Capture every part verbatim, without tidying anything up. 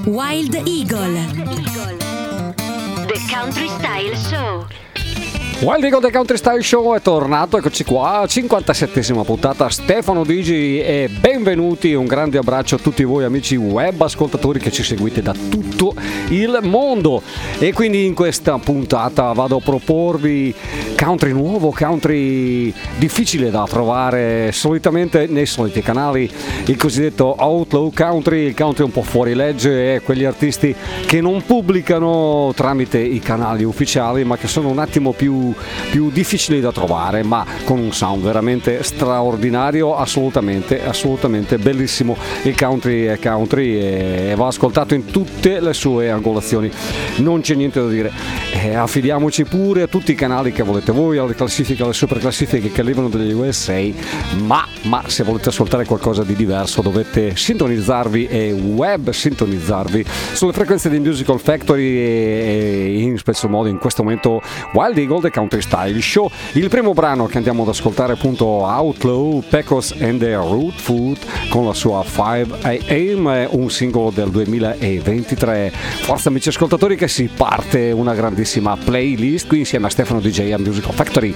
Wild Eagle, The Country Style Show. Wild Eagle The Country Style Show è tornato, eccoci qua, cinquantasettesima puntata. Stefano Digi e benvenuti, un grande abbraccio a tutti voi amici web ascoltatori che ci seguite da tutto il mondo. E quindi in questa puntata vado a proporvi country nuovo, country difficile da trovare solitamente nei soliti canali, il cosiddetto outlaw country, il country un po' fuori legge, e quegli artisti che non pubblicano tramite i canali ufficiali ma che sono un attimo più più difficili da trovare, ma con un sound veramente straordinario, assolutamente assolutamente bellissimo. Il country è country e va ascoltato in tutte le sue angolazioni, non c'è niente da dire. E affidiamoci pure a tutti i canali che volete voi, alle classifiche, alle super classifiche che arrivano dagli U S A, ma, ma se volete ascoltare qualcosa di diverso dovete sintonizzarvi e web sintonizzarvi sulle frequenze di Musical Factory e in special modo in questo momento Wild Eagle The Country Style Show. Il primo brano che andiamo ad ascoltare è appunto Outlaw, Pecos and the Root Food con la sua five a m, un singolo del duemilaventitré. Forza amici ascoltatori che si parte una grandissima playlist qui insieme a Stefano D J a Musical Factory.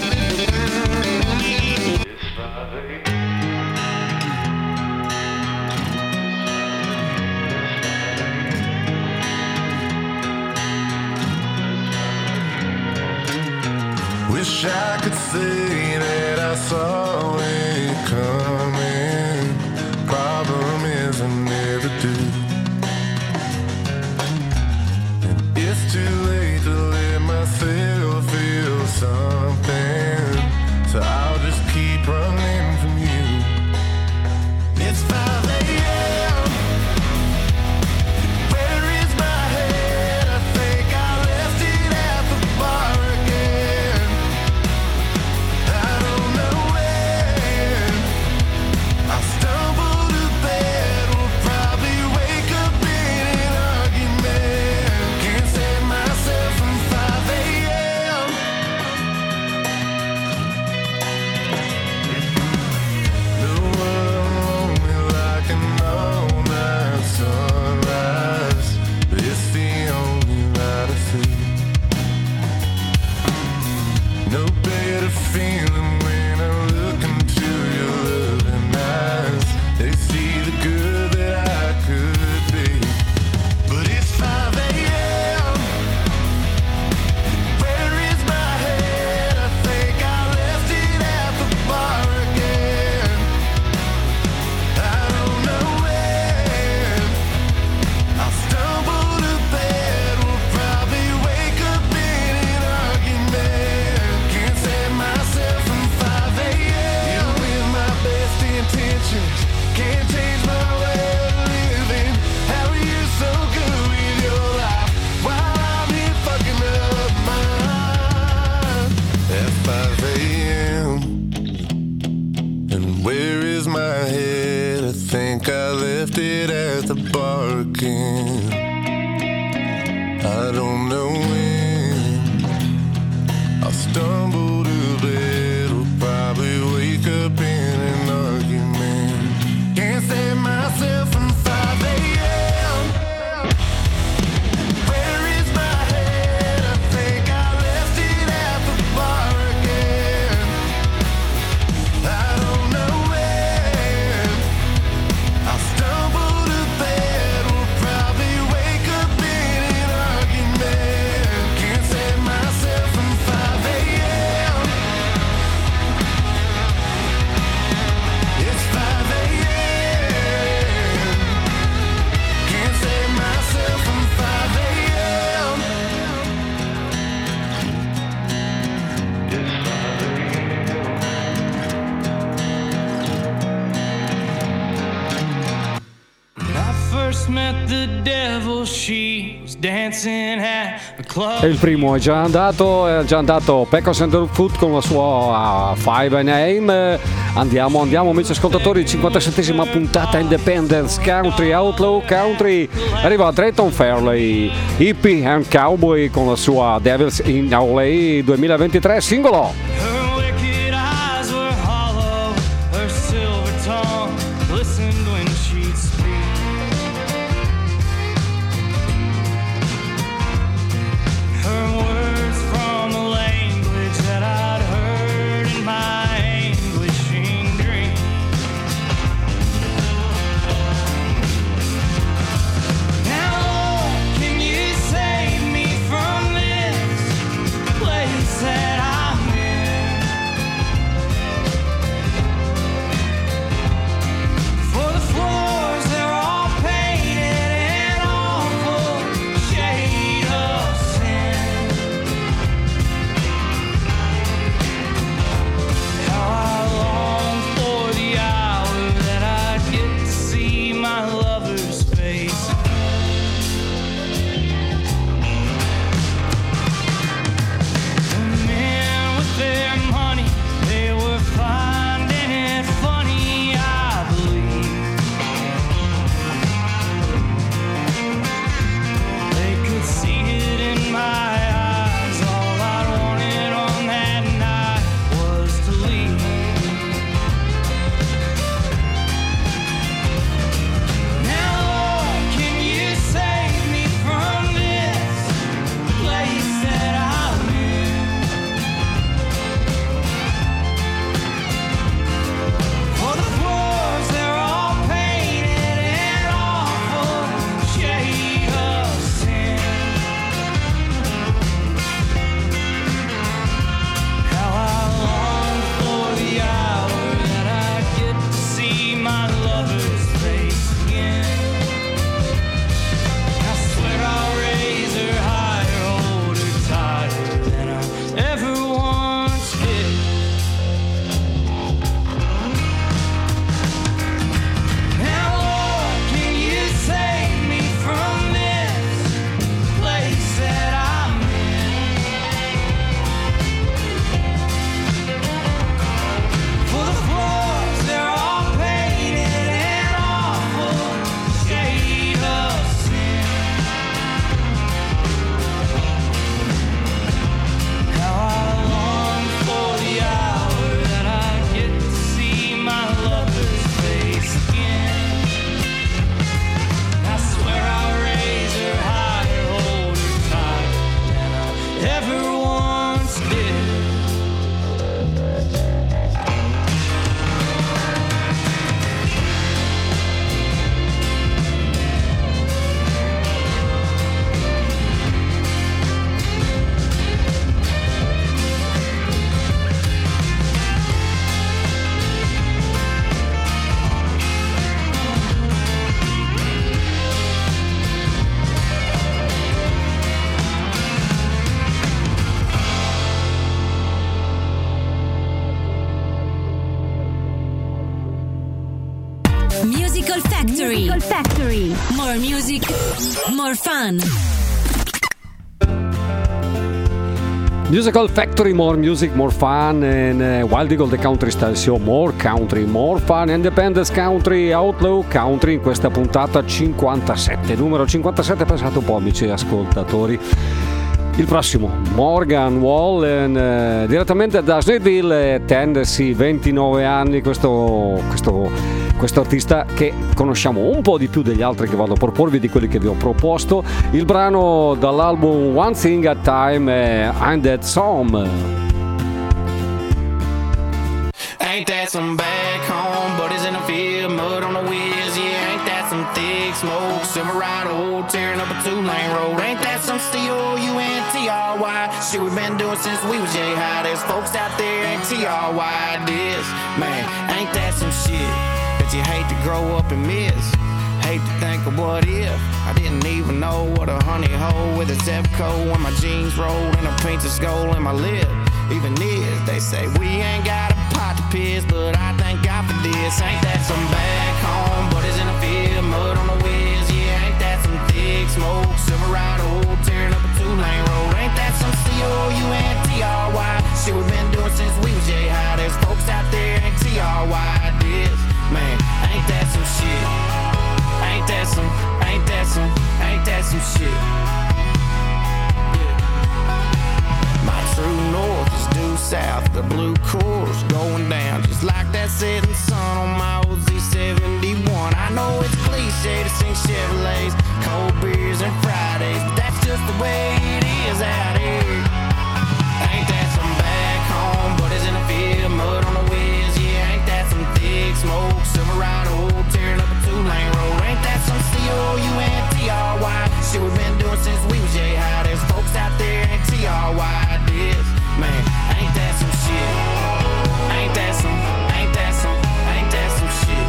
Wish I could say that I saw it coming. Problem is I never do. And it's too late to let myself feel something, so I'll just keep running from you. It's five a m Where is my head? I think I left it at the bar again. I don't know when I stumble to bed. Will probably wake up in an argument. Can't save myself from five a m No one lonely like an all-night sunrise, but it's the only light I see. No better feeling when I look into your loving eyes. They see the good that I could be. But it's five a m Where is my head? I think I left it at the bar again. I don't know when I stumble to bed. Will probably wake up in an argument. Can't save myself from five a m Even with my best intentions, can't change my way of living. How are you so good with your life while I'm here fucking up mine? At five a m And where is my head? I think I left it at the bar again. I don't know when I'll stumble to bed. Will probably wake up in an argument. Can't save myself from five a m Where is my head? I think I left it at the bar again. I don't know when I'll stumble to bed. Will probably wake up in an argument. Can't save myself from five a m It's five a m Can't save myself from five a m When I first met the devil, she was dancing at a club. E il primo è già andato, è già andato Pecos and the Root Food con la sua five a m Andiamo, andiamo amici ascoltatori, cinquantasettesima puntata Independence Country, Outlaw Country. Arriva Drayton Fairley, Hippie and Cowboy con la sua Devils in L A duemilaventitré singolo. Her wicked eyes were hollow, her silver tongue glistened when she'd speak. Factory. Musical Factory. More music, more fun. Musical Factory, more music, more fun, and uh, Wild Eagle The Country Style Show, more country, more fun, independence country, outlaw country in questa puntata cinquantasette, numero cinquantasette, pensate un po' amici ascoltatori. Il prossimo, Morgan Wallen, eh, direttamente da Snellville, Tennessee, ventinove anni, questo, questo, questo artista che conosciamo un po' di più degli altri che vado a proporvi, di quelli che vi ho proposto. Il brano dall'album One Thing at a Time è I'm That Some. Ain't that some back home, buddies in the field, mud on the wheels, yeah, ain't that some thick smoke, Silverado, tearing up a two-lane road, ain't that some C O U N T R Y, shit we've been doing since we was J-High, there's folks out there ain't T R Y this, man, ain't that some shit that you hate to grow up and miss, hate to think of what if, I didn't even know what a honey hole with a Zepco when my jeans rolled and a painted skull in my lip, even is, they say we ain't got a pot to piss, but I thank God for this. Ain't that some back home, buddies in the field, mud on the wheels, yeah, ain't that some thick smoke, Silverado, tearing up a two-lane road, ain't that some C O U N T R Y, shit we've been doing since we was J-High, there's folks out there ain't T R Y this, man, ain't that some shit, ain't that some, ain't that some, ain't that some shit. True north is due south, the blue course going down just like that setting sun on my old Z seventy-one. I know it's cliche to sing Chevrolets, cold beers and Fridays, but that's just the way it is out here. Ain't that some back home, buddies in the field, mud on the wheels, yeah, ain't that some thick smoke, Silverado, tearing up a two-lane road, ain't that some C O U N T R Y, shit we've been doing since we was J-High, there's folks out there ain't T R Y. Man, ain't that some shit? Ain't that some, ain't that some, ain't that some shit?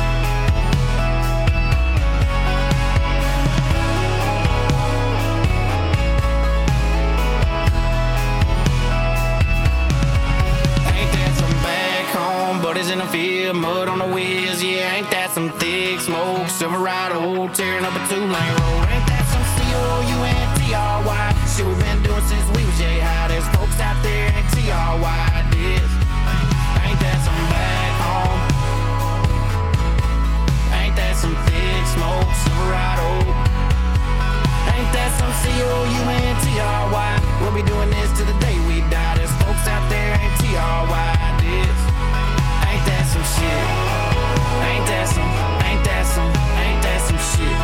Ain't that some back home, buddies in the field, mud on the wheels, yeah, ain't that some thick smoke, Silverado, tearing up a two-lane road, ain't that some C O U N T R Y, shit we've been doing since we was J-High, there's folks out there ain't T R Y this, ain't that some back home, ain't that some thick smoke, Silverado, ain't that some C O U N T R Y, we'll be doing this till the day we die, there's folks out there ain't T R Y this, ain't that some shit, ain't that some, ain't that some, ain't that some shit.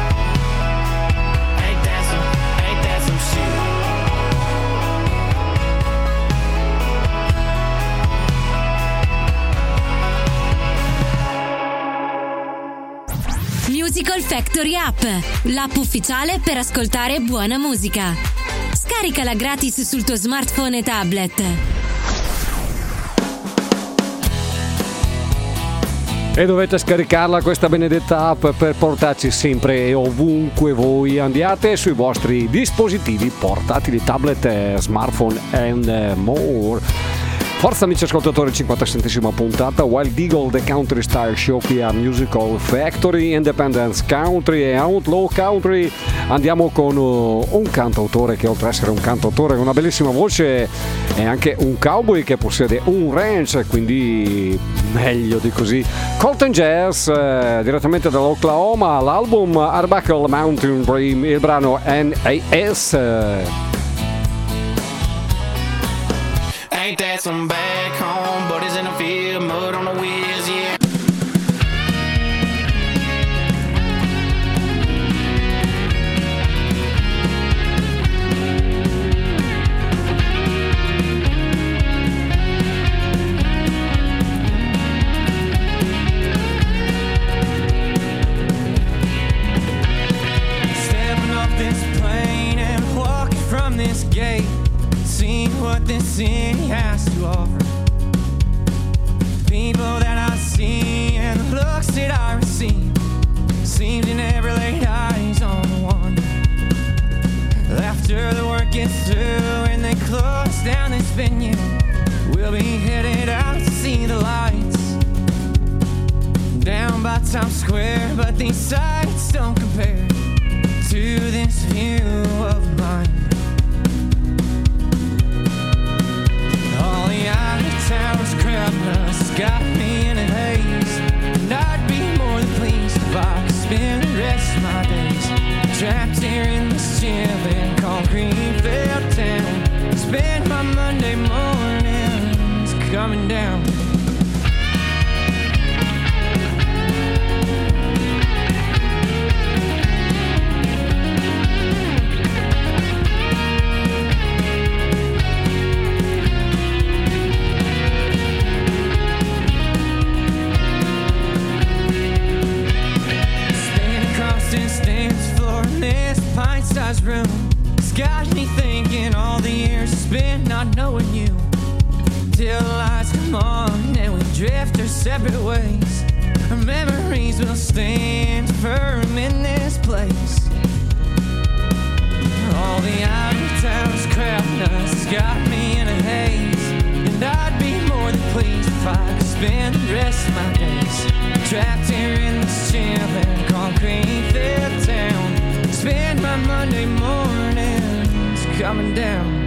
Musical Factory App, l'app ufficiale per ascoltare buona musica. Scaricala gratis sul tuo smartphone e tablet. E dovete scaricarla questa benedetta app per portarci sempre e ovunque voi andiate sui vostri dispositivi portatili, tablet, smartphone and more. Forza amici ascoltatori, cinquantasettesima puntata, Wild Eagle The Country Style Show qui a Musical Factory, Independence Country e Outlaw Country. Andiamo con uh, un cantautore che oltre ad essere un cantautore con una bellissima voce è anche un cowboy che possiede un ranch, quindi meglio di così. Colton Jazz, eh, direttamente dall'Oklahoma, l'album Arbuckle Mountain Dream, il brano N A S. Ain't that some back home, buddies in the field, mud on the wheels, yeah. Stepping off this plane and walking from this gate, seeing what this city has to offer. People that I see and the looks that I receive seems to never lay eyes on one. After the work gets through and they close down this venue, we'll be headed out to see the lights down by Times Square, but these sights don't compare to this view of mine. All the out-of-town's crowdness got me in a haze, and I'd be more than pleased if I could spend the rest of my days trapped here in this chilling concrete-filled town. Spend my Monday mornings coming down. Pint-sized room, it's got me thinking all the years spent not knowing you. Till the lights come on and we drift our separate ways. Our memories will stand firm in this place. All the out-of-town's crowdness got me in a haze, and I'd be more than pleased if I could spend the rest of my days trapped here in this chilling concrete-filled town. Spend my Monday mornings coming down.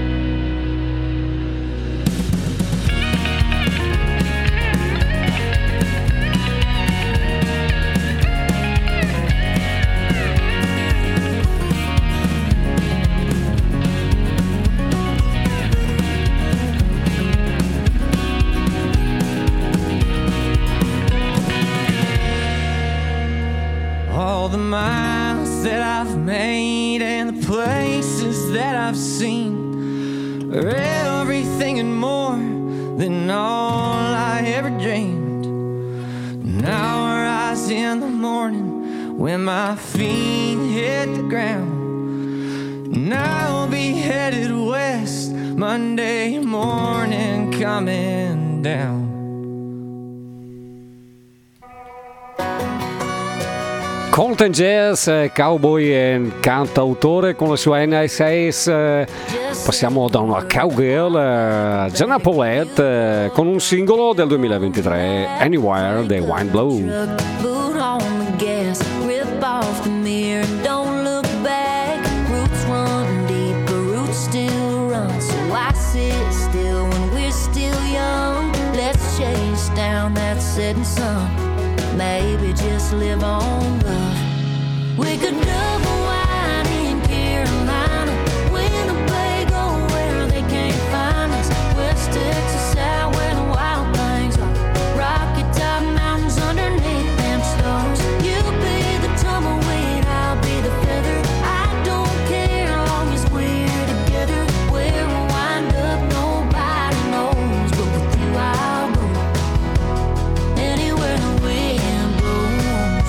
All the miles that I've made and the places that I've seen are everything and more than all I ever dreamed. Now I rise in the morning when my feet hit the ground, and I'll be headed west Monday morning coming down. Colton Jazz, cowboy e cantautore con la sua N S A. Passiamo da una cowgirl, Jenna Paulette, con un singolo del duemilaventitré, Anywhere the Wind Blows. Boot on the gas, rip off the mirror, don't look back. Roots run deep, but roots still run. So I sit still when we're still young. Let's chase down that setting sun. Maybe just live on love. We could double wide in Carolina, Winnebago where they can't find us, West Texas out where the wild things are, Rocky Top mountains underneath them stars. You be the tumbleweed, I'll be the feather. I don't care long as we're together. Where we'll wind up nobody knows, but with you I'll go anywhere the wind blows.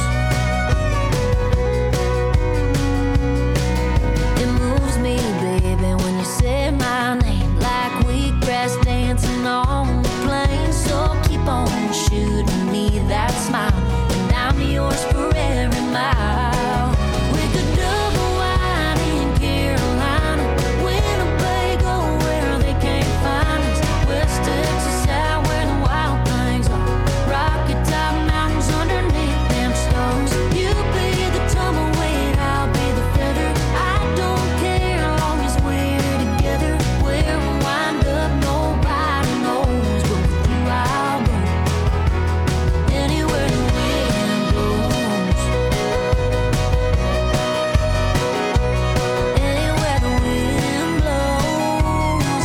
It moves me, baby, when you say my name, like wheatgrass dancing on the plain. So keep on shooting me that smile, and I'm yours for every mile. We could double wide in Carolina, Winnebago where they can't find us, West Texas out where the wild things are, Rocky Top mountains underneath them stars. You be the tumbleweed, I'll be the feather. I don't care long as we're together. Where we'll wind up nobody knows, but with you I'll go anywhere the wind blows. Anywhere the wind blows.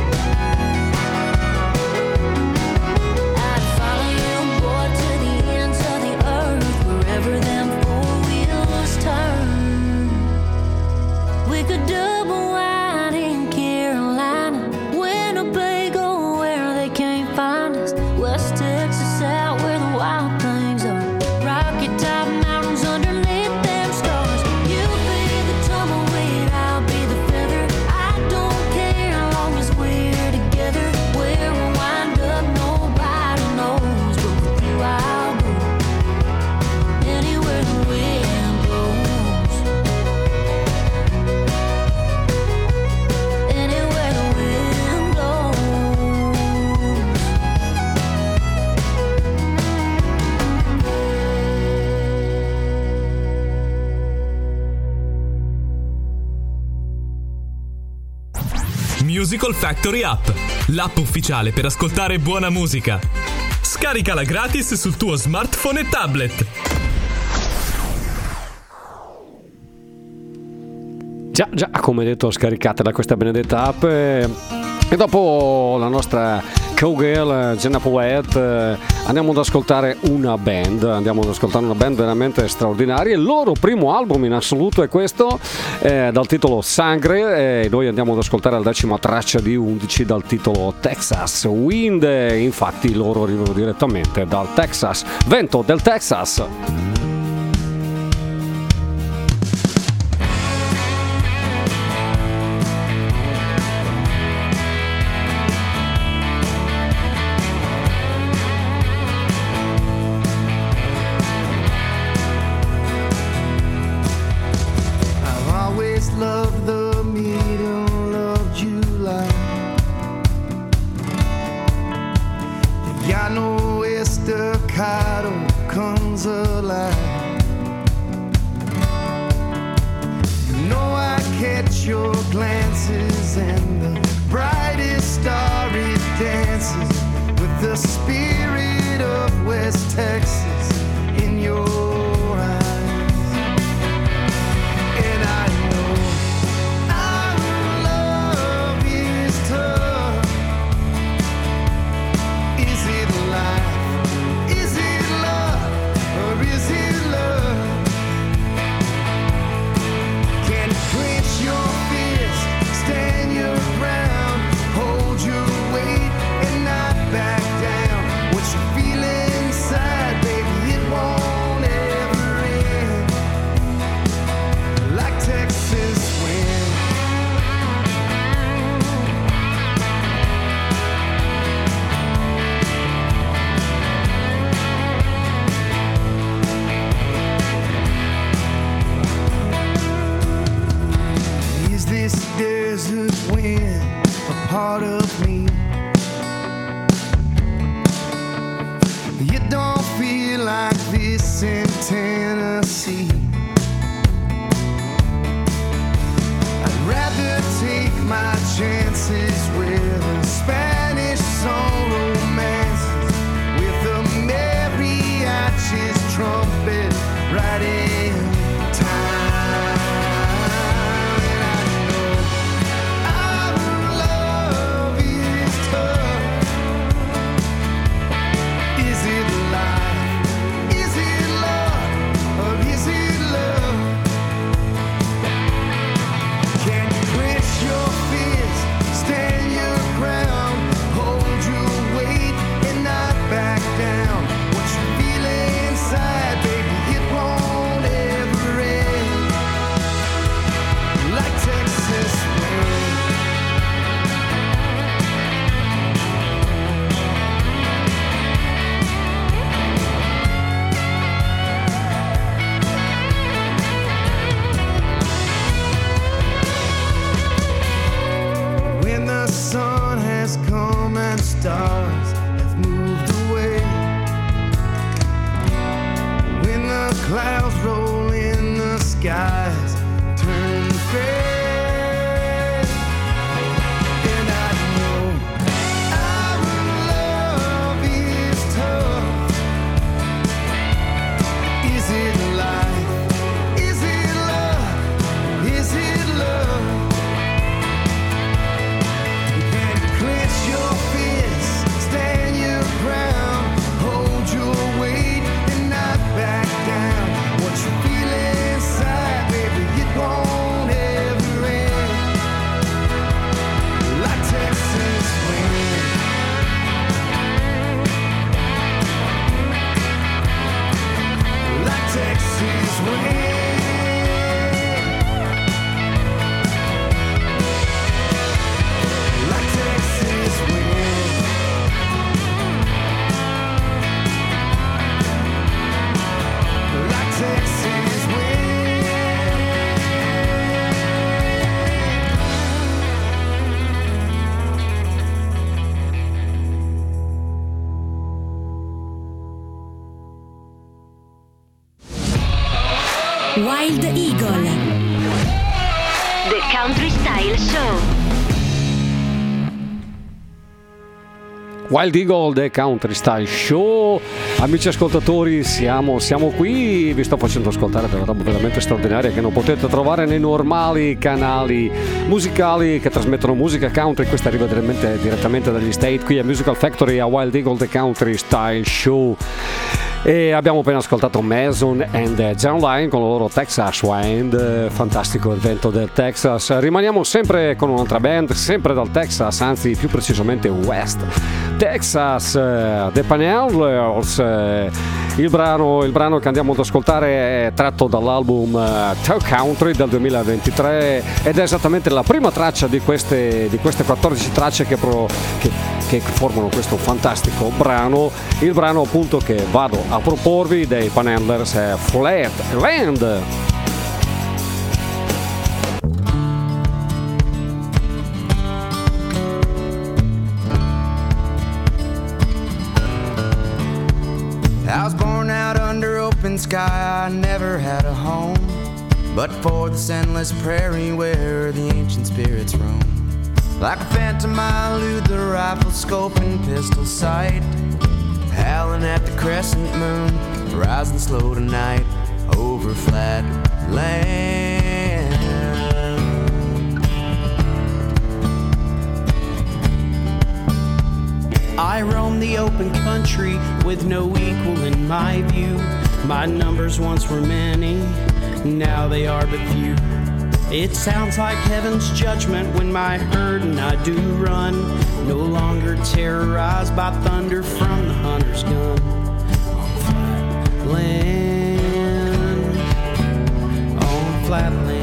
I'd follow you, boy, to the ends of the earth, wherever them four wheels turn. We could double wide in Carolina, Winnebago where they can't find us, West Texas out where the wild things are, Rocky Top mountains underneath them stars. You be the tumbleweed, I'll be the feather. I don't care long as we're together. Where we'll wind up nobody knows, but with you I'll go anywhere the wind blows. Musical Factory App, l'app ufficiale per ascoltare buona musica. Scaricala gratis sul tuo smartphone e tablet. Già, già, come detto, scaricatela questa benedetta app. E, e dopo la nostra cowgirl Jenna Poet eh, andiamo ad ascoltare una band, andiamo ad ascoltare una band veramente straordinaria. Il loro primo album in assoluto è questo, eh, dal titolo Sangre, e noi andiamo ad ascoltare la decima traccia di undici dal titolo Texas Wind. Infatti loro arrivano direttamente dal Texas, vento del Texas. Wild Eagle, The Country Style Show. Wild Eagle The Country Style Show. Amici ascoltatori, siamo, siamo qui, vi sto facendo ascoltare delle robe veramente straordinarie che non potete trovare nei normali canali musicali che trasmettono musica country. Questa arriva direttamente, direttamente dagli State, qui a Musical Factory a Wild Eagle The Country Style Show. E abbiamo appena ascoltato Mason and John Lyon con il loro Texas Wind, fantastico evento del Texas. Rimaniamo sempre con un'altra band, sempre dal Texas, anzi più precisamente West Texas, uh, The Panhandlers. Uh, il, brano, il brano che andiamo ad ascoltare è tratto dall'album uh, Toe Country del duemilaventitré ed è esattamente la prima traccia di queste, di queste quattordici tracce che, pro, che, che formano questo fantastico brano. Il brano appunto che vado a proporvi dei Panhandlers è Flatland. I was born out under open sky, I never had a home, but for this endless prairie where the ancient spirits roam. Like a phantom I elude the rifle scope and pistol sight, howling at the crescent moon, rising slow tonight over flat land. I roam the open country with no equal in my view. My numbers once were many, now they are but few. It sounds like heaven's judgment when my herd and I do run, no longer terrorized by thunder from the hunter's gun. On flat land, on flat land.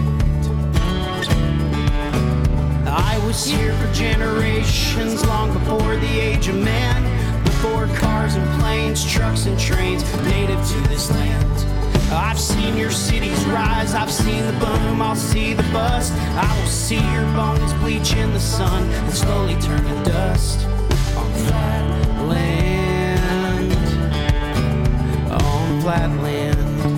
I was here for generations, long before the age of man, before cars and planes, trucks and trains, native to this land. I've seen your cities rise, I've seen the boom, I'll see the bust. I will see your bones bleach in the sun and slowly turn to dust. On flat land, on flat land.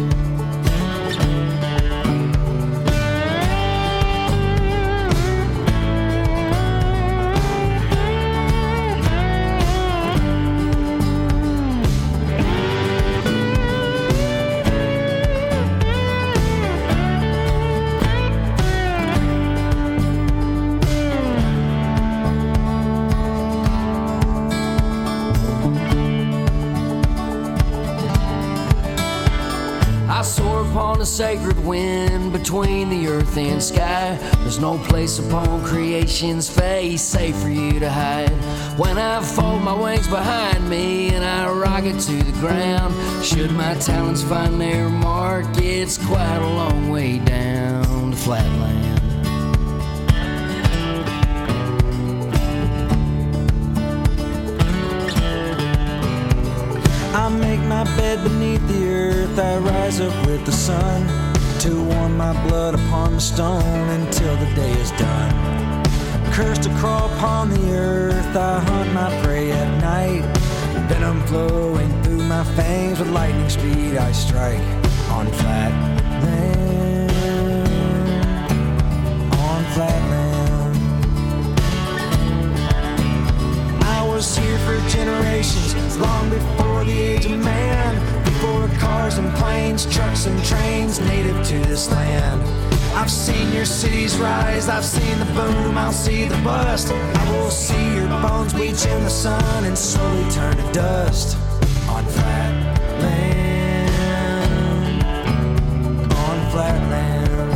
A sacred wind between the earth and sky. There's no place upon creation's face safe for you to hide. When I fold my wings behind me and I rocket to the ground, should my talents find their mark, it's quite a long way down to flatland. I make my bed beneath the earth, I rise up with the sun to warm my blood upon the stone until the day is done. Cursed to crawl upon the earth, I hunt my prey at night. Venom flowing through my fangs, with lightning speed I strike on flat land, on flat land. I was here for generations, long before the age of man, before cars and planes, trucks and trains, native to this land. I've seen your cities rise, I've seen the boom, I'll see the bust. I will see your bones bleach in the sun and slowly turn to dust. On flat land, on flat land.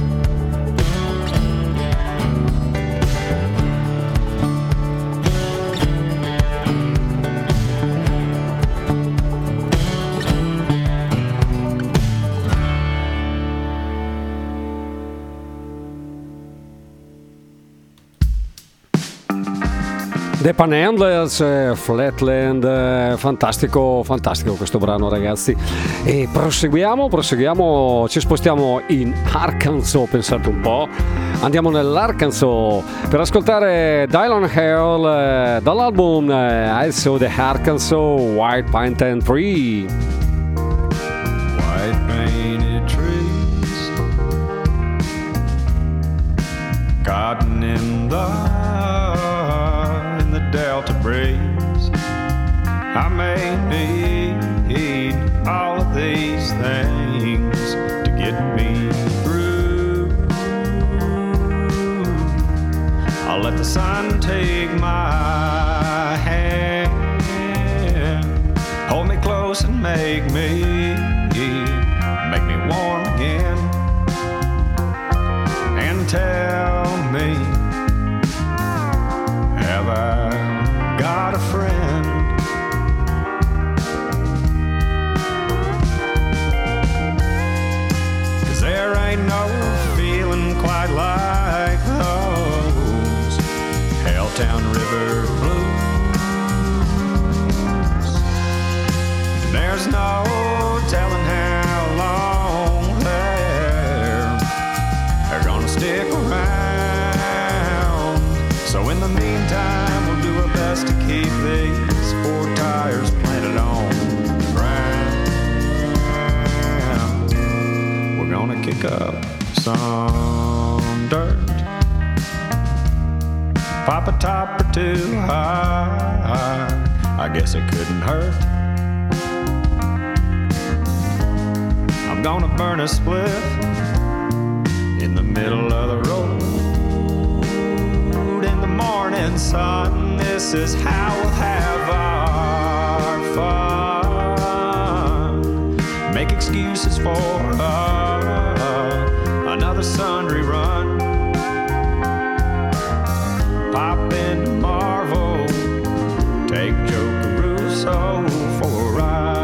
The Panhandlers, eh, Flatland, eh, fantastico, fantastico questo brano, ragazzi. E proseguiamo, proseguiamo, ci spostiamo in Arkansas, pensate un po'. Andiamo nell'Arkansas per ascoltare Dylan Hale eh, dall'album eh, I Saw the Arkansas White Painted Tree. White painted trees, cotton in the Delta breeze, I may need all of these things to get me through. I'll let the sun take my hand, hold me close and make me, make me warm again, and tell me, have I got a friend? 'Cause there ain't no feeling quite like those Helltown River blues. There's no telling how long they're, they're gonna stick around. So in the meantime, we'll do our best to keep these four tires planted on the ground. We're gonna kick up some dirt, pop a top or two high, I guess it couldn't hurt. I'm gonna burn a spliff in the middle of the road in the morning sun. This is how we'll have our fun. Make excuses for uh, another Sundry run. Pop into Marvel, take Joe Caruso for a ride.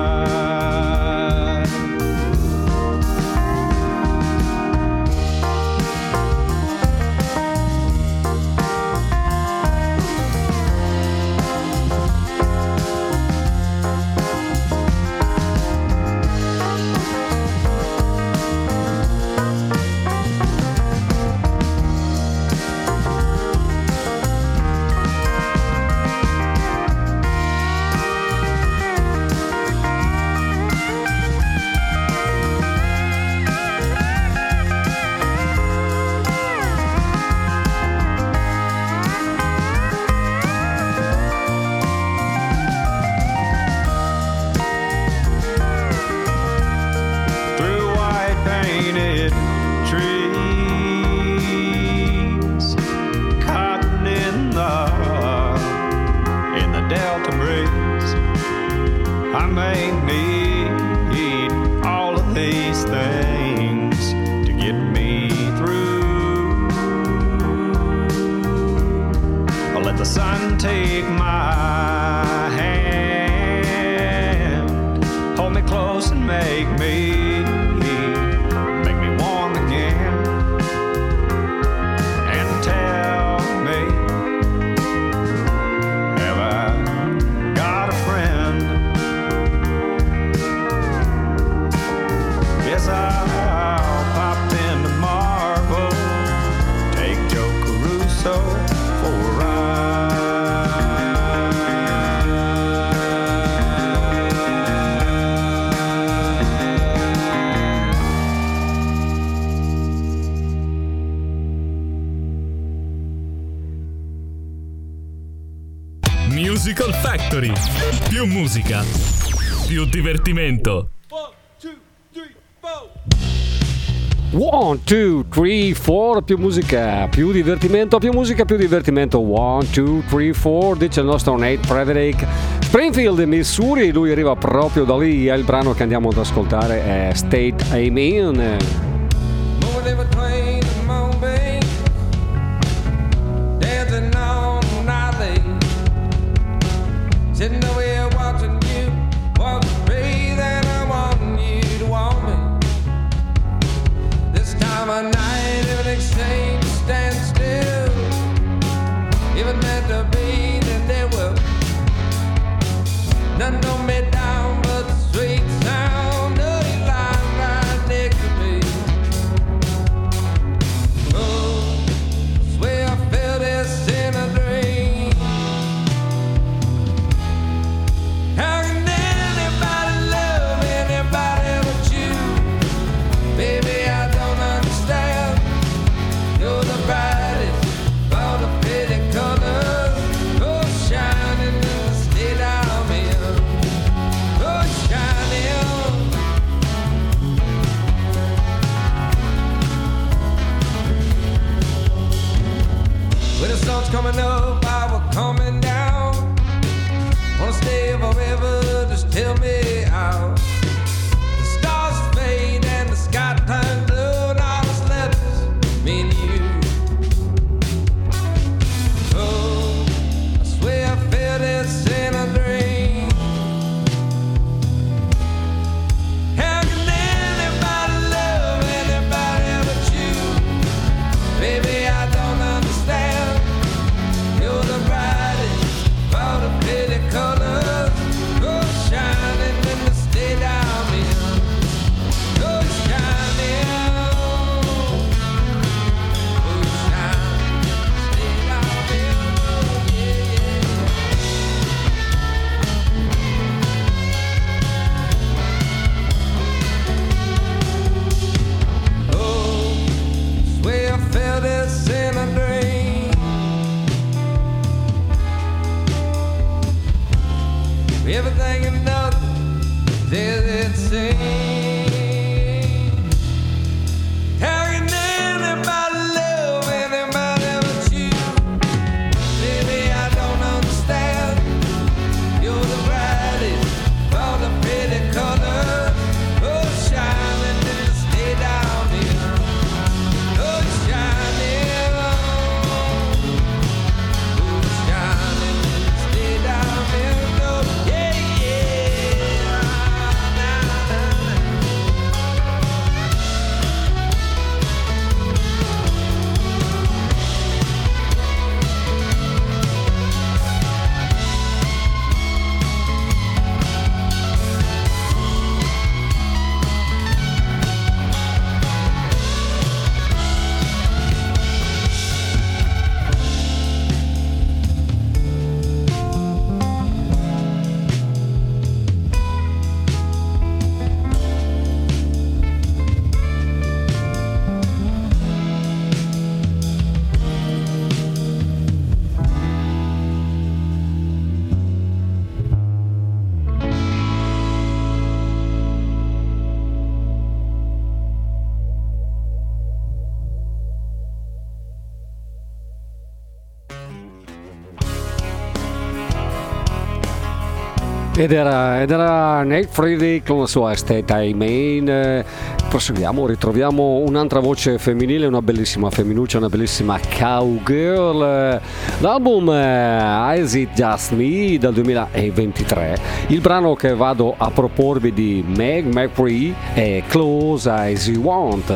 Musical Factory. Più musica, più divertimento. One, two, three, four, più musica, più divertimento, più musica, più divertimento. One, two, three, four, dice il nostro Nate Frederick. Springfield, Missouri, lui arriva proprio da lì. Il brano che andiamo ad ascoltare è State Amen. Sitting over here watching you walk free, then I want you to want me. This time of night, if an exchange stands still, if it meant to be, then there will. None know me down, but the sweet sound of your line right next to me. sun's coming up while we're coming down. Wanna stay forever, just tell me how. The stars fade and the sky turns blue, and all that's left is me and you. Oh, I swear I felt this in a dream. How can anybody love anybody but you? Baby, I don't understand. You're the brightest of all the pretty colors. Oh, shining in the state I'm in. Oh, shining. Oh, shining in the state I'm in. Oh, yeah, yeah. Oh, swear I felt this in a dream. Everything and nothing is it seems. How can anybody love anybody but you? Baby, I don't understand. You're the brightest of all the pretty colors. Oh, shining in the state I'm in. Oh, shining. Oh, shining in the state I'm in. Oh, yeah. Ed era, ed era Nate Friedrich con la sua State I Main. Eh, proseguiamo, ritroviamo un'altra voce femminile, una bellissima femminuccia, una bellissima cowgirl. Eh, l'album eh, Is It Just Me del duemilaventitré. Il brano che vado a proporvi di Meg McCree è Close As You Want.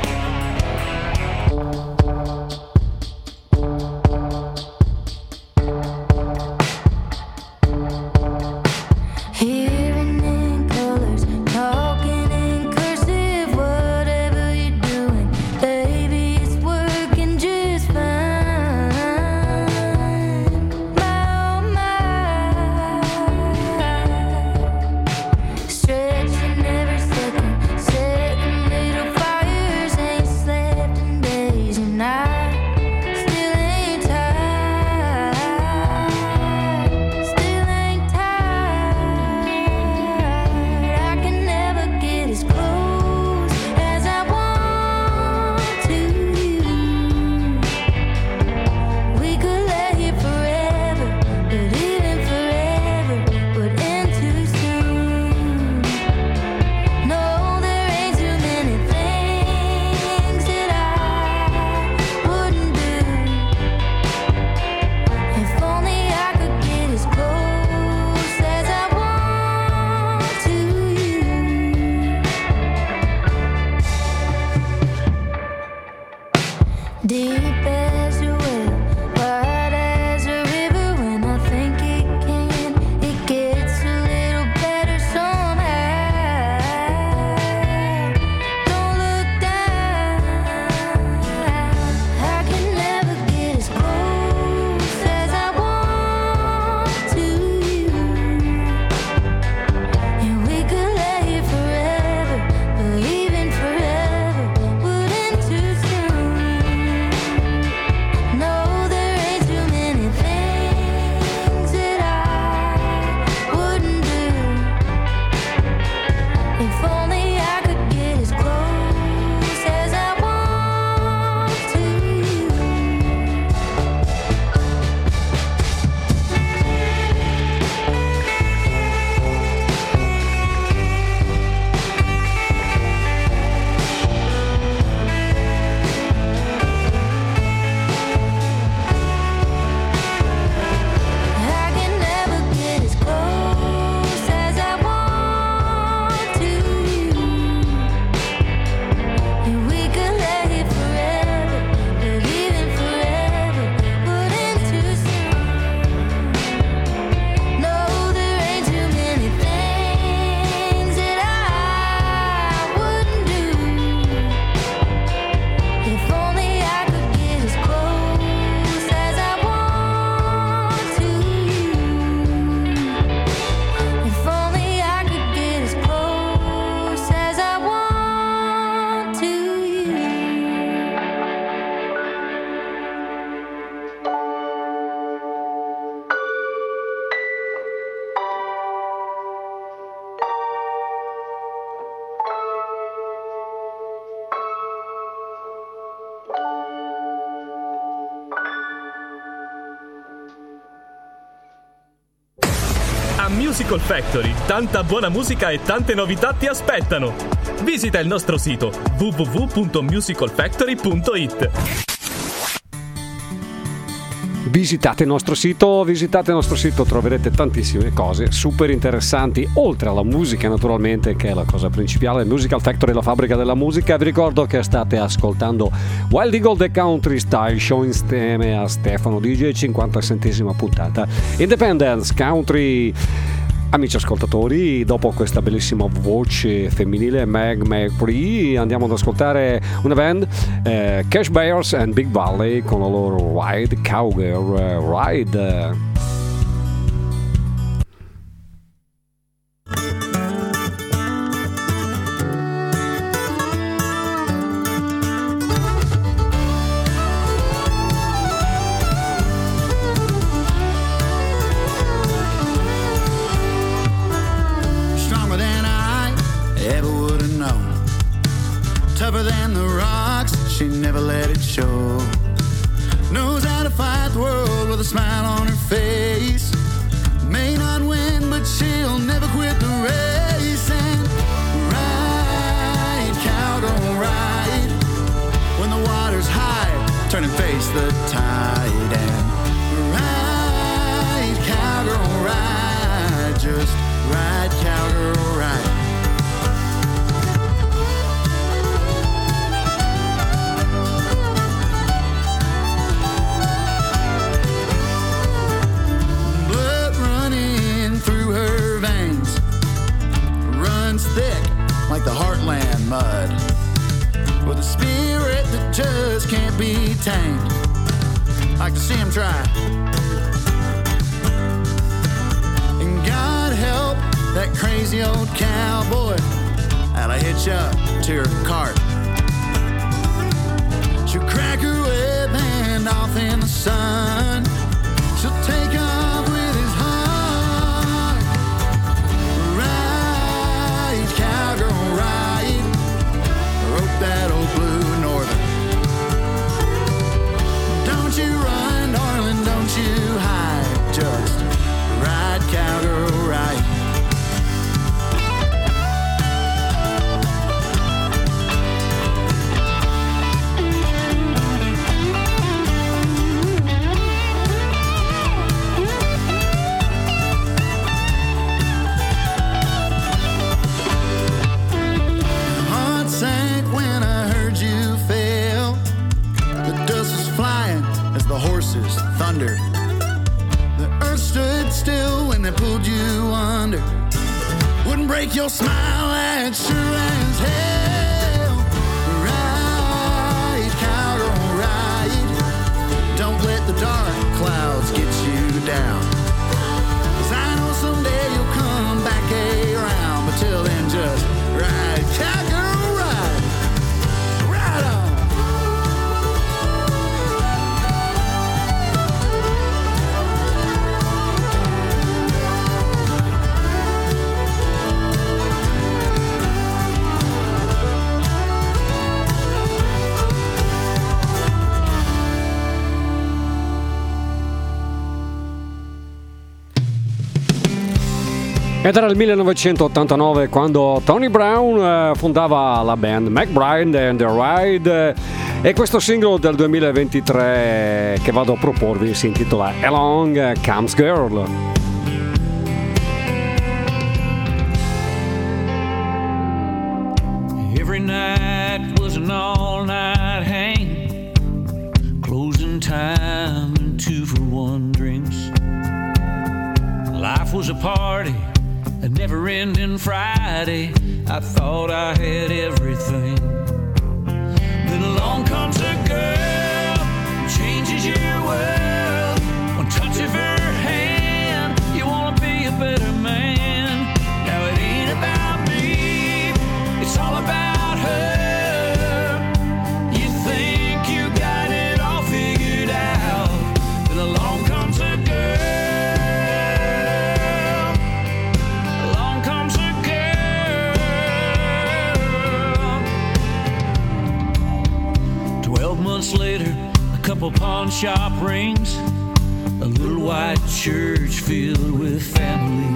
Hearing in colors, talking in cursive, whatever you're doing, baby, it's working just fine. My, oh my, stretching every second, setting little fires, ain't slept in days, and I still ain't tired, still ain't tired. I can never get as close as I want to you. We could lay here forever, but even forever would end too soon. No, there ain't too many things that I wouldn't do. If only I could get as close as I want to you. Deep as a well, wide as a river. When I think it can, it gets a little better somehow. Don't look down. I can never get as close as I want to you. And we could lay here forever, but even forever wouldn't too soon. Musical Factory, tanta buona musica e tante novità ti aspettano. Visita il nostro sito w w w punto musical factory punto i t. Visitate il nostro sito, visitate il nostro sito, troverete tantissime cose super interessanti, oltre alla musica naturalmente, che è la cosa principale. Musical Factory, la fabbrica della musica. Vi ricordo che state ascoltando Wild Eagle The Country Style Show insieme a Stefano D J, cinquantasettesima puntata Independence Country. Amici ascoltatori, dopo questa bellissima voce femminile Meg McBride, andiamo ad ascoltare una band, eh, Cash Bears and Big Valley, con la loro Ride Cowgirl uh, Ride. Tougher than the rocks, she never let it show. Knows how to fight the world with a smile on her face. May not win, but she'll never quit the race. And ride, cowgirl, ride. When the water's high, turn and face the tide. And ride, cowgirl, ride. Just ride, cowgirl, ride. Thick like the heartland mud, with a spirit that just can't be tamed. Like to see him try. And God help that crazy old cowboy that'll hitch up to her cart. She'll crack her whip and off in the sun. She'll take off with his heart. Ride, cowgirl, ride. Rope that old blue northern. Don't you run, darling, don't you hide. Just ride, cowgirl, ride. Thunder. The earth stood still when they pulled you under. Wouldn't break your smile, that's sure as hell. Ride, cowgirl, ride. Don't let the dark clouds get you down. 'Cause I know someday you'll come back around. But till then, just ride, cowgirl, ride. Ride on. Ed era il millenovecentottantanove quando Tony Brown eh, fondava la band McBride and the Ride, eh, e questo singolo del duemilaventitré che vado a proporvi si intitola Along Comes Girl. Every night was an all-night hang, closing time and two for one drinks. Life was a party, a never-ending Friday. I thought I had everything. Then along comes a girl, changes your world. One touch of her hand, you wanna be a better man. Now it ain't about me, it's all about her. You think you got it all figured out. Then along comes a girl. Months later, a couple pawn shop rings, a little white church filled with family.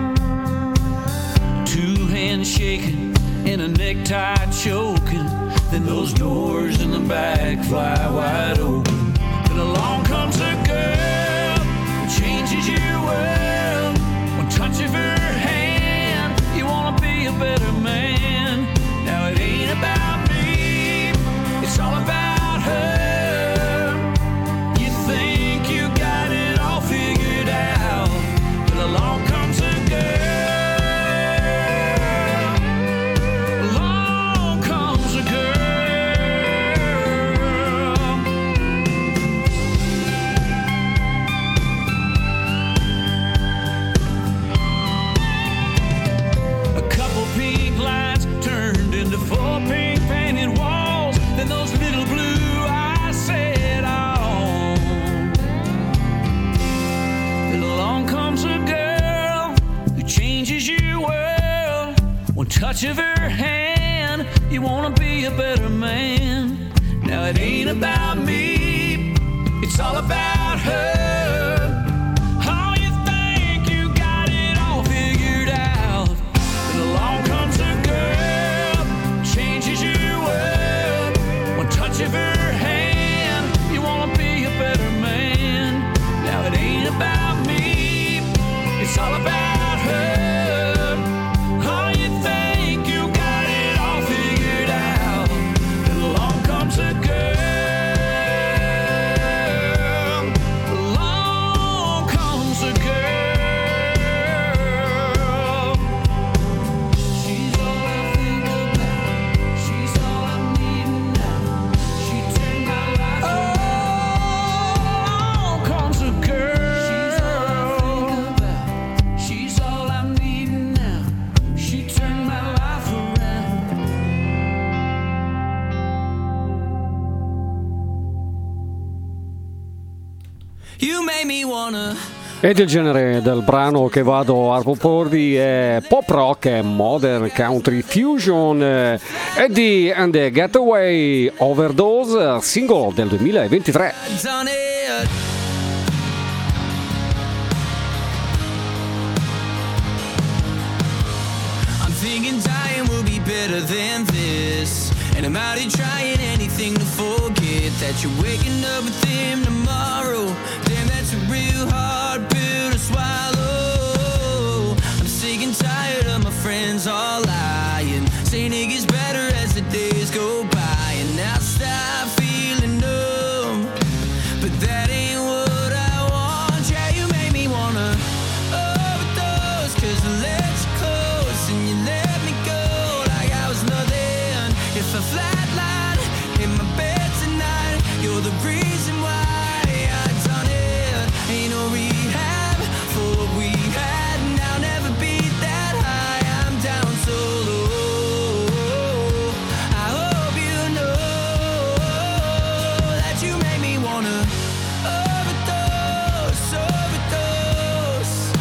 Two hands shaking and a necktie choking. Then those doors in the back fly wide open. Then along comes a girl who changes your world. One touch of her hand, you wanna be a better man. Now it ain't about me, it's all about her. You think you got it all figured out, but along comes a girl. Along comes a girl. A couple pink lights turned into four pink painted walls. Then those little blue eyes set on. Then along comes a girl who changes your world. One touch of her hand, you wanna be a better man. Now it ain't about me, it's all about her. Oh, you think you got it all figured out, but along comes a girl, changes your world. One touch of her hand, you wanna be a better man. Now it ain't about me, it's all about her. Oh, you think you got it all figured out, but along comes a girl. Along comes a girl. She's all I think about. She's all I need now. She turned my life around. Along comes a girl. She's all I think about. She's all I need now. She turned my life around. You made me wanna. Ed il genere del brano che vado a proporvi è pop rock e modern country fusion. eh, Eddie and the Getaway Overdose, singolo del duemilaventitré. Done it. I'm thinking dying will be better than this. And I'm out here trying anything to forget that you're waking up with him tomorrow. Damn, that's a real hard pill to swallow. I'm sick and tired of my friends all lying, saying it gets better as the days go by. And now stop feeling numb, but that ain't what I want. Yeah, you made me wanna overdose, cause I let you close and you let me go like I was nothing. If I flatline in my bed tonight, you're the reason why I done it. Ain't no rehab for what we had, and I'll never be that high. I'm down so low. I hope you know that you made me wanna overdose, overdose.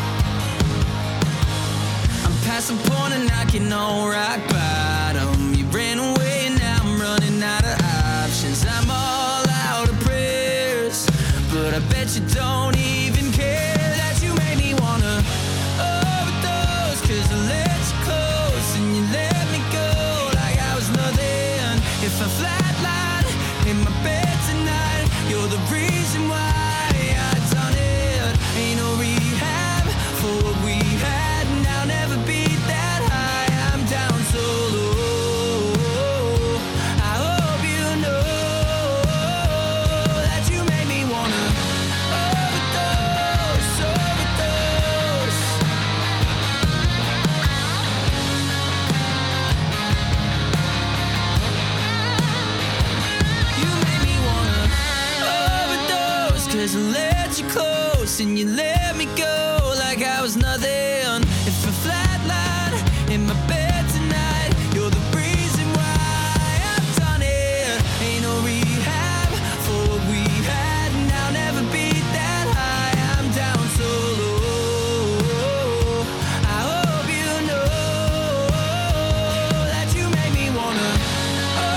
I'm past the point of knocking on rock bottom. You ran away and now I'm running out of options. I'm all out of prayers, but I bet you don't even care that you made me wanna overdose. Cause I let you close and you let me go like I was nothing. If I flatline in my bed tonight, you're the reason why I done it. Ain't no rehab for what we had, and I'll never be that high. I'm down so low. I hope you know that you made me wanna overdose, overdose. You made me wanna overdose, cause I let you close and you let me go like I was nothing. If I flatline in my bed tonight, you're the reason why I've done it. Ain't no rehab for what we had, and I'll never be that high. I'm down so low. I hope you know that you made me wanna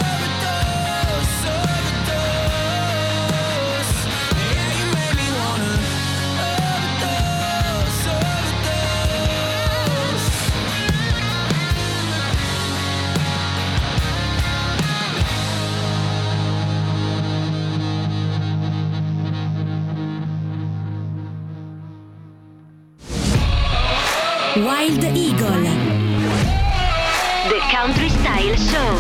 overdose, overdose. Yeah, you made me wanna Wild Eagle. The Country Style Show.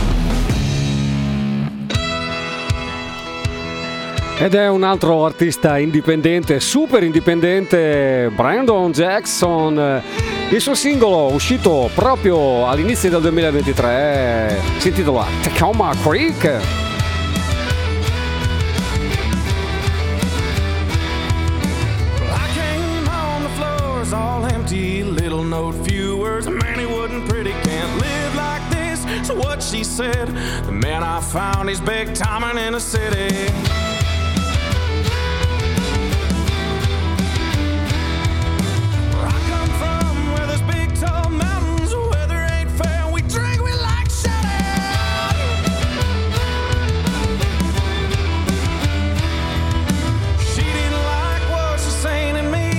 Ed è un altro artista indipendente, super indipendente, Brandon Jackson. Il suo singolo, uscito proprio all'inizio del duemilaventitré, si intitola Tacoma Creek. All empty, little note, few words. Man, he wasn't pretty, can't live like this. So what she said, the man I found, he's big timing in the city. Where I come from, where there's big tall mountains, weather ain't fair, we drink, we like shouting. She didn't like what she's saying to me.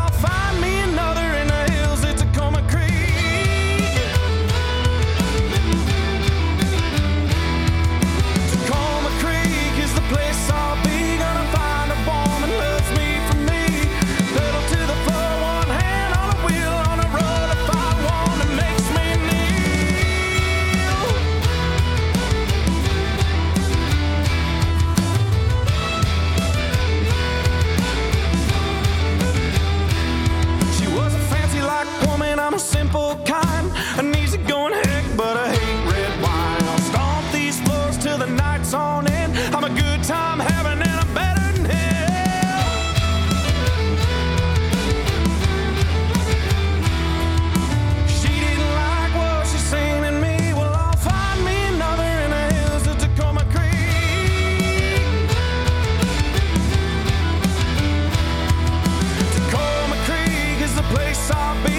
I'm a simple kind, an easygoing heck, but I hate red wine. I'll stomp these floors till the night's on end. I'm a good time having, and I'm better than hell. She didn't like what she's saying to me. Well, I'll find me another in the hills of Tacoma Creek. Tacoma Creek is the place I'll be.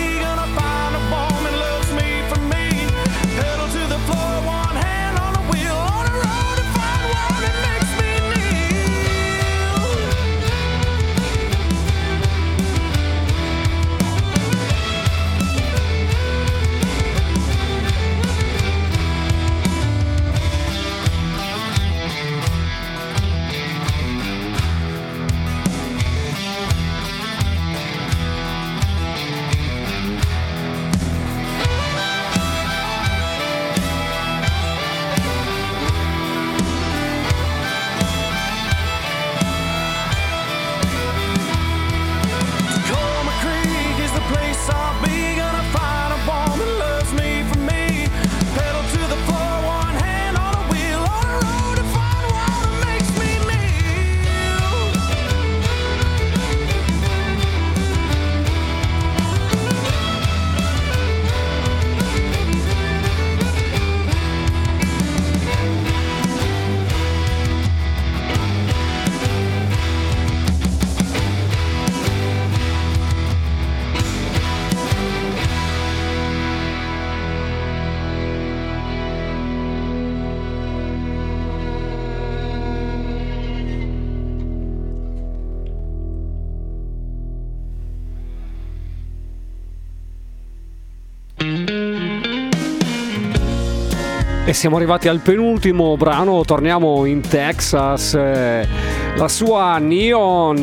E siamo arrivati al penultimo brano, torniamo in Texas, eh, la sua Neon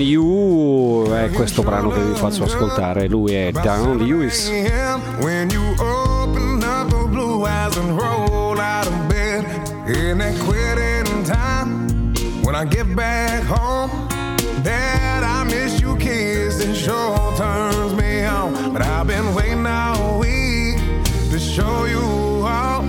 You è questo brano che vi faccio ascoltare, lui è Don Lewis. When you open up the blue eyes and roll out of bed, in that quitting time, when I get back home, Dad, I miss you kids, it sure turns me on, but I've been waiting all week to show you all.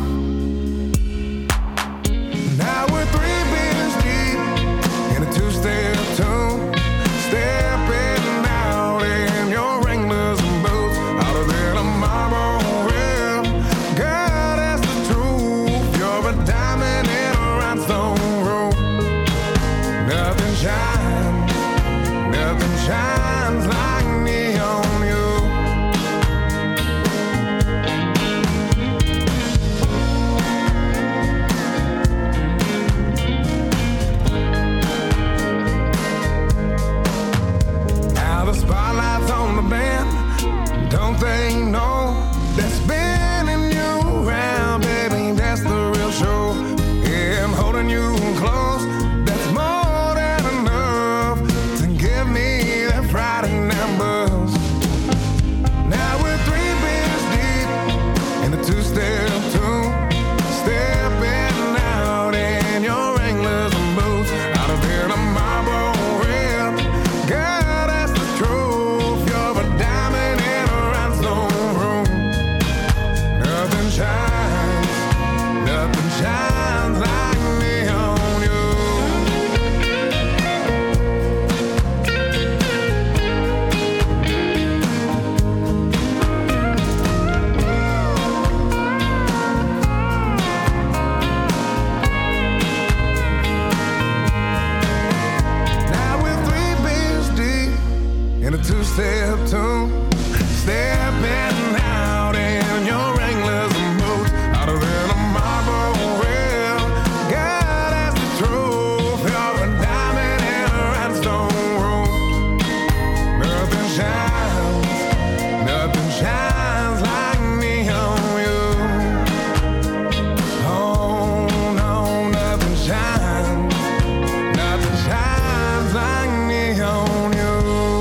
Now we're three beers deep in a two-step tune, stepping out in your Wranglers and boots, out of there tomorrow, well, God, that's the truth, you're a diamond in a rhinestone room, nothing shines, nothing shines like neon you. two-step tune, stepping out in your Wranglers and boots, hotter than a marble wheel. God has the truth of a diamond in a rhinestone room. Nothing shines, nothing shines like me on you. Oh no, nothing shines, nothing shines like me on you.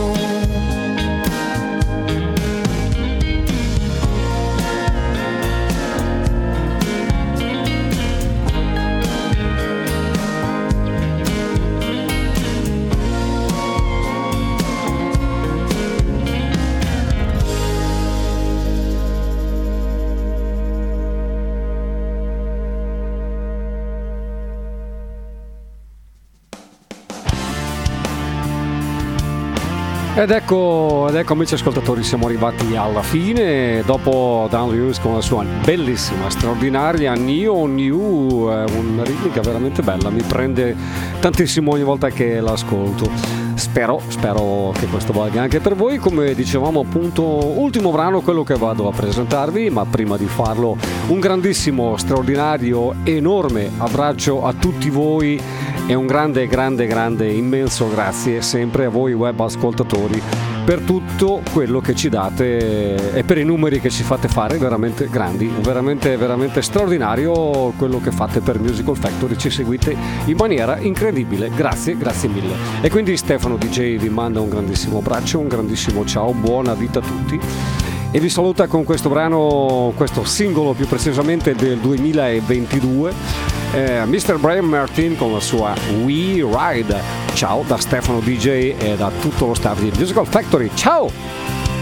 Ed ecco, ed ecco amici ascoltatori, siamo arrivati alla fine dopo Dan Lewis con la sua bellissima, straordinaria Neo New, eh, una ritmica veramente bella, mi prende tantissimo ogni volta che l'ascolto. Spero, spero che questo valga anche per voi. Come dicevamo appunto, ultimo brano, quello che vado a presentarvi, ma prima di farlo un grandissimo, straordinario, enorme abbraccio a tutti voi e un grande, grande, grande, immenso grazie sempre a voi web ascoltatori per tutto quello che ci date e per i numeri che ci fate fare, veramente grandi, veramente, veramente straordinario quello che fate per Musical Factory, ci seguite in maniera incredibile, grazie, grazie mille. E quindi Stefano D J vi manda un grandissimo abbraccio, un grandissimo ciao, buona vita a tutti e vi saluta con questo brano, questo singolo più precisamente del duemilaventidue, eh, mister Brian Martin con la sua We Ride. Ciao da Stefano D J e da tutto lo staff di Musical Factory, ciao!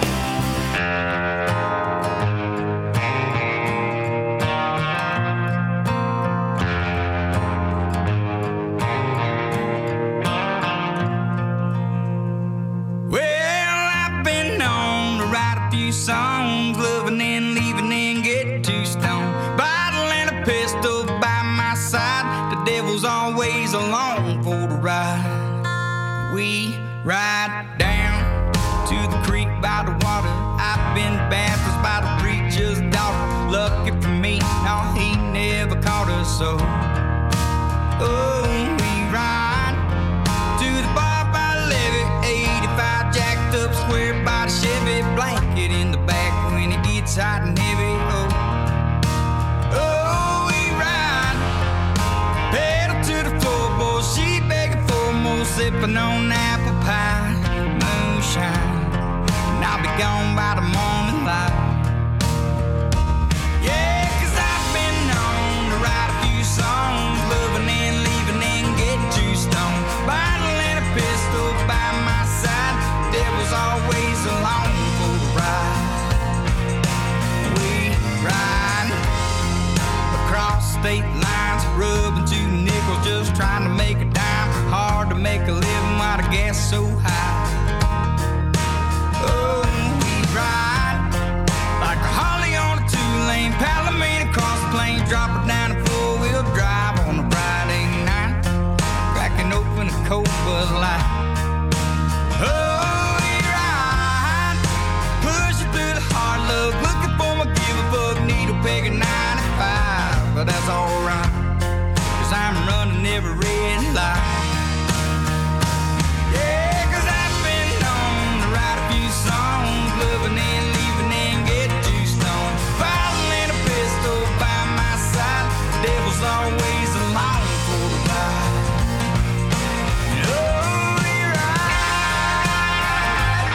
Songs, loving and leaving and get too stoned. Bottle and a pistol by my side. The devil's always along for the ride. We ride down to the creek by the water. I've been baptized by the preacher's daughter. Lucky for me, no, he never caught us so. Oh, we ride to the bar by the levee, eighty-five jacked up square by the Chevy, blanket in the back when it gets hot and heavy. Oh, oh, we ride, pedal to the floorboard, she begging for more, sipping on apple pie, moonshine, and I'll be gone by the morning light. Yeah, 'cause I've been known to write a few songs, loving and leaving and get too stoned. Bottle and a pistol by my side, devil's always along for the ride. We ride across state lines, rubbing two nickels, just trying to make a dime. Hard to make a living while the gas so high. Oh, we ride like a Harley on a two-lane, Palomino across the plain, drop it down a four-wheel drive on a Friday night, cracking open a cold Bud Light. Oh, we ride, pushing through the hard luck, looking for my give-a-fuck needle peg at ninety-five, but that's alright, 'cause I'm running every red light. Yeah, 'cause I've been known to write a few songs, loving and leaving and get too stoned. Bottle and a pistol by my side, the devil's always along for the ride. Oh, we ride,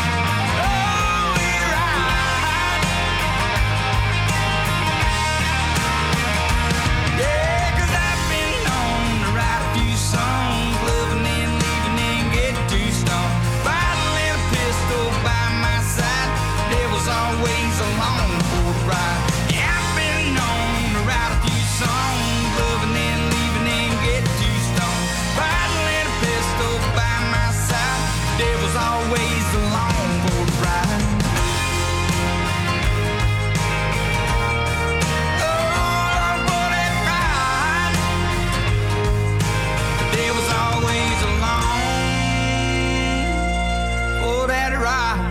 oh, we ride. cry.